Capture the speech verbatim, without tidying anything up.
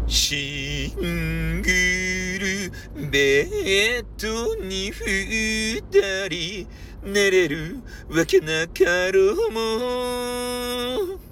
シングルベッドに二人寝れるわけなかろうも